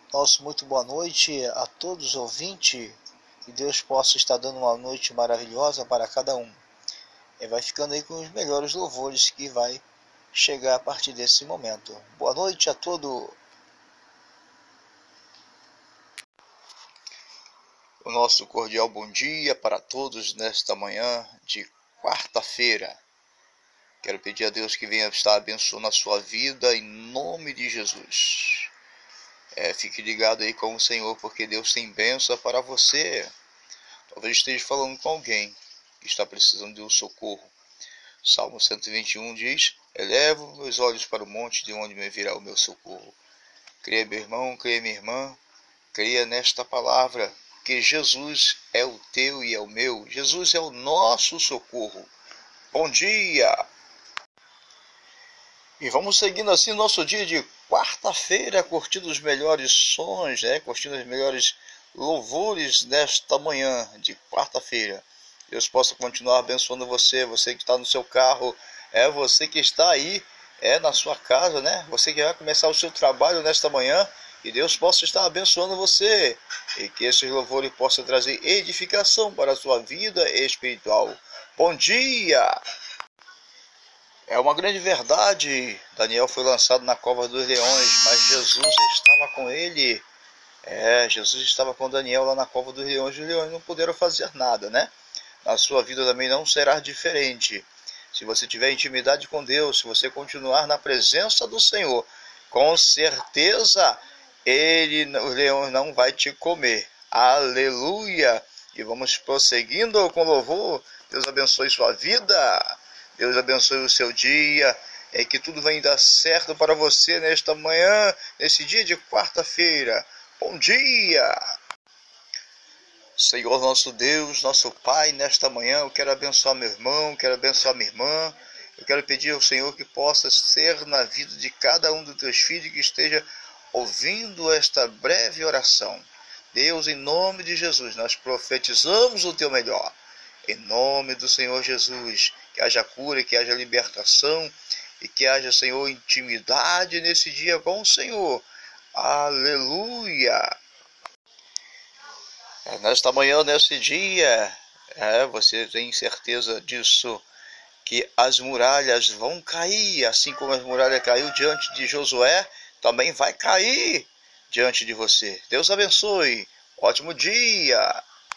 Nosso muito boa noite a todos os ouvintes. Que Deus possa estar dando uma noite maravilhosa para cada um. E vai ficando aí com os melhores louvores que vai chegar a partir desse momento. Boa noite a todos. O nosso cordial bom dia para todos nesta manhã de quarta-feira. Quero pedir a Deus que venha estar abençoando a sua vida em nome de Jesus. Fique ligado aí com o Senhor, porque Deus tem bênção para você. Talvez esteja falando com alguém que está precisando de um socorro. Salmo 121 diz: Elevo meus olhos para o monte, de onde me virá o meu socorro. Creia, meu irmão, creia, minha irmã, creia nesta palavra, que Jesus é o teu e é o meu. Jesus é o nosso socorro. Bom dia! E vamos seguindo assim nosso dia de quarta-feira, curtindo os melhores sons, curtindo os melhores louvores nesta manhã de quarta-feira. Deus possa continuar abençoando você, você que está no seu carro, você que está aí, na sua casa, Você que vai começar o seu trabalho nesta manhã, que Deus possa estar abençoando você e que esses louvores possam trazer edificação para a sua vida espiritual. Bom dia! É uma grande verdade. Daniel foi lançado na cova dos leões, mas Jesus estava com ele. Jesus estava com Daniel lá na cova dos leões. Os leões não puderam fazer nada, Na sua vida também não será diferente. Se você tiver intimidade com Deus, se você continuar na presença do Senhor, com certeza os leões não vai te comer. Aleluia! E vamos prosseguindo com louvor. Deus abençoe sua vida. Deus abençoe o seu dia, que tudo vai dar certo para você nesta manhã, nesse dia de quarta-feira. Bom dia! Senhor nosso Deus, nosso Pai, nesta manhã eu quero abençoar meu irmão, quero abençoar minha irmã. Eu quero pedir ao Senhor que possa ser na vida de cada um dos teus filhos que esteja ouvindo esta breve oração. Deus, em nome de Jesus, nós profetizamos o teu melhor. Em nome do Senhor Jesus, que haja cura, que haja libertação e que haja, Senhor, intimidade nesse dia com o Senhor. Aleluia! Nesta manhã, nesse dia, você tem certeza disso, que as muralhas vão cair, assim como as muralhas caiu diante de Josué, também vai cair diante de você. Deus abençoe. Ótimo dia!